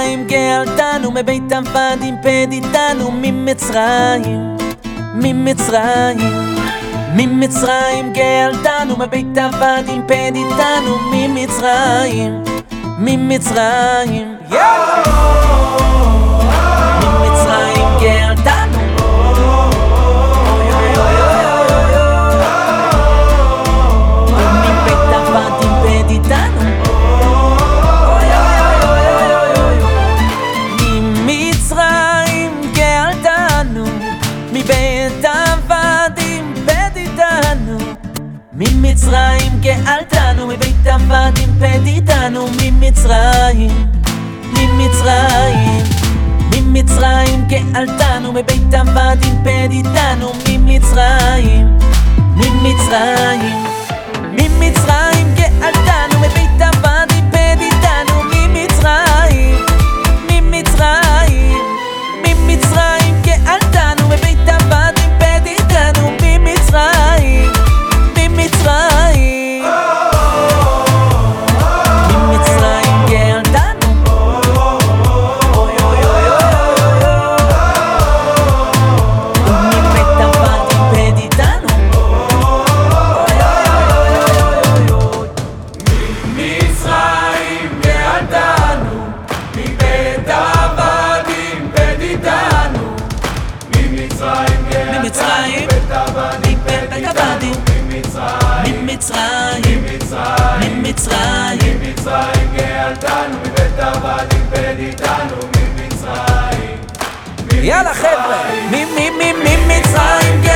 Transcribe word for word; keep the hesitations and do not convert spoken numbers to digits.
ממצרים גאלתנו, מבית עבדים פדיתנו, ממצרים, ממצרים, ממצרים גאלתנו, מבית עבדים פדיתנו, ממצרים, ממצרים, ממצרים גאלתנו, מבית עבדים פדיתנו, ממצרים גאלתנו, מבית עבדים פדיתנו, ממצרים גאלתנו, מבית עבדים פדיתנו, ממצרים, ממצרים, ממצרים גאלתנו, מבית עבדים פדיתנו, ממצרים, ממצרים, ממצרים גאלתנו, מבית עבדים פדיתנו, ממצרים, ממצרים, ממצרים גאלתנו, מבית עבדים פדיתנו, ממצרים, ממצרים, ממצרים גאלתנו, מבית עבדים פדיתנו, ממצרים גאלתנו, מבית עבדים פדיתנו, ממצרים ממצרים, מבית עבדים מבית עבדים, ממצרים, ממצרים, ממצרים, ממצרים, ממצרים גאלתנו, מבית עבדים פדיתנו, ממצרים, יאללה חבר'ה, ממצרים